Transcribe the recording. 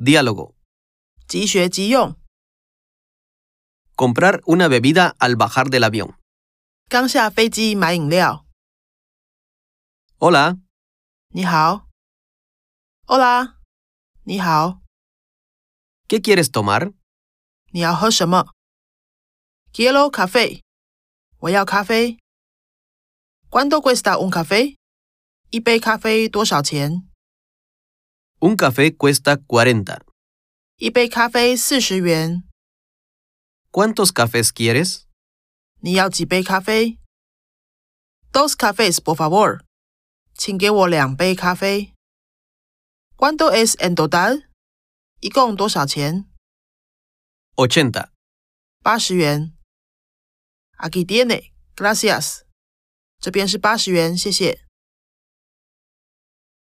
Diálogo. 即学即用。 Comprar una bebida al bajar del avión. 刚下飞机买饮料。 Hola, 你好。Hola， 你好。 ¿qué quieres tomar? 你要喝什么 ？Quiero café。我要咖啡。¿Cuánto cuesta un café？ 一杯咖啡多少钱？ Un café cuesta 40. 一杯咖啡40元。 ¿Cuántos cafés quieres? 你要几杯咖啡 ？Dos cafés, por favor。请给我2杯咖啡。¿Cuánto es en total？ 一共多少钱？ 80. 80元。Aquí tiene, gracias。这边是80元，谢谢。